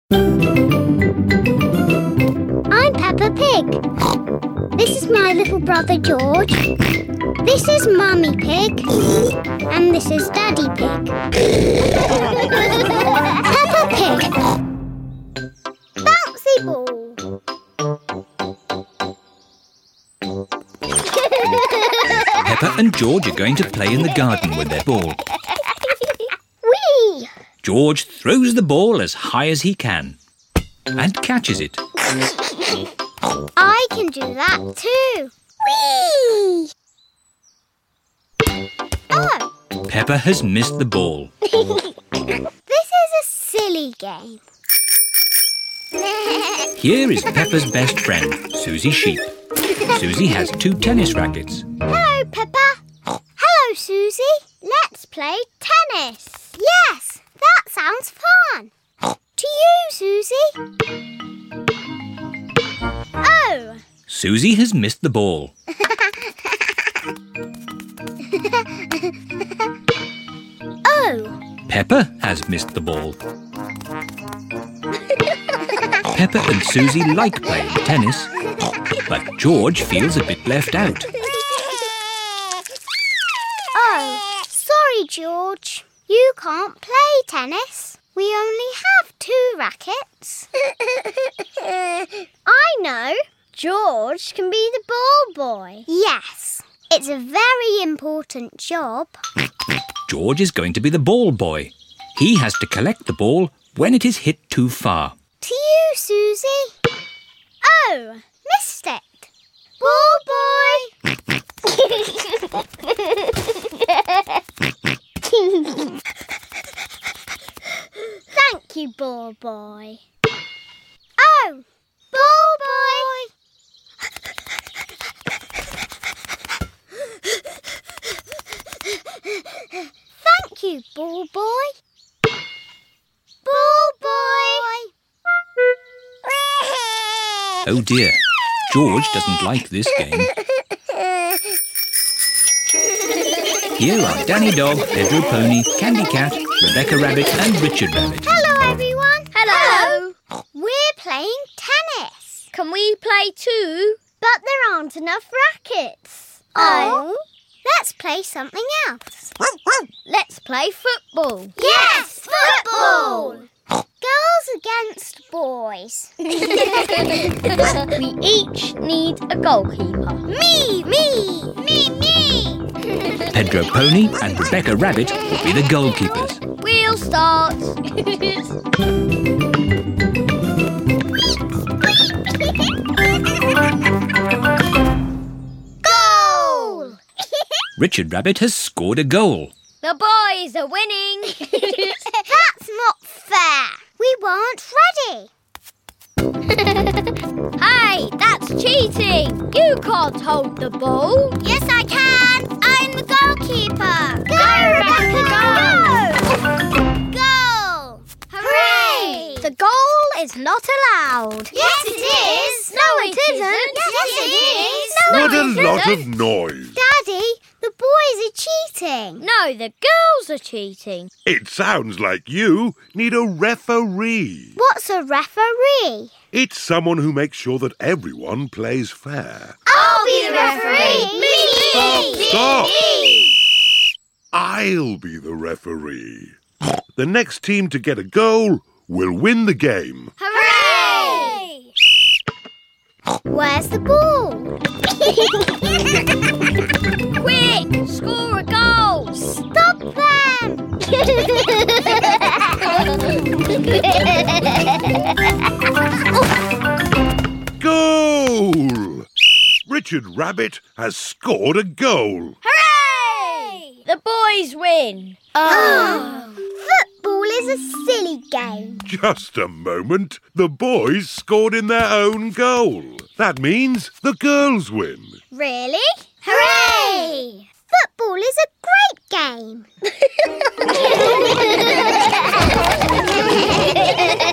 I'm Peppa Pig. This is my little brother George. This is Mummy Pig. And this is Daddy Pig. Peppa Pig. Bouncy ball. Peppa and George are going to play in the garden with their ball. Whee! George throws the ball as high as he can and catches it. I can do that too. Whee! Oh! Peppa has missed the ball. This is a silly game. Here is Peppa's best friend, Susie Sheep. Susie has 2 tennis rackets. Hello, Peppa. Hello, Susie. Let's play tennis. Yes, that sounds fun. To you, Susie. Oh. Susie has missed the ball. Oh. Peppa has missed the ball. Peppa and Susie like playing tennis, but George feels a bit left out. Oh, sorry, George. You can't play tennis. We only have 2 rackets. I know. George can be the ball boy. Yes, it's a very important job. George is going to be the ball boy. He has to collect the ball when it is hit too far. To you, Susie. Oh, missed it. Ball boy. Thank you, ball boy. Oh, ball boy. Thank you, ball boy. Ball boy. Oh dear, George doesn't like this game. Here are Danny Dog, Pedro Pony, Candy Cat, Rebecca Rabbit and Richard Rabbit. Hello, everyone. Hello. We're playing tennis. Can we play too? But there aren't enough rackets. Oh. Let's play something else. Let's play football. Yes, football. Girls against boys. We each need a goalkeeper. Me. Pedro Pony and Rebecca Rabbit will be the goalkeepers. We'll start. Goal! Richard Rabbit has scored a goal. The boys are winning. That's not fair. We weren't ready. Hey, that's cheating. You can't hold the ball. Yes, I can. I'm the goalkeeper. Go, Rebecca, go! Goal! Hooray! The goal is not allowed. Yes, it is. No, it isn't. Yes, it is. What a lot of noise. Daddy, the boys are cheating. No, the girls are cheating. It sounds like you need a referee. What's a referee? It's someone who makes sure that everyone plays fair. I'll be the referee. Me. Stop. I'll be the referee. The next team to get a goal will win the game. Hooray! Where's the ball? Quick, score a goal. Stop them! Goal! Richard Rabbit has scored a goal. Hooray! The boys win. Football is a silly game. Just a moment. The boys scored in their own goal. That means the girls win. Really? Hooray! Football is a great game.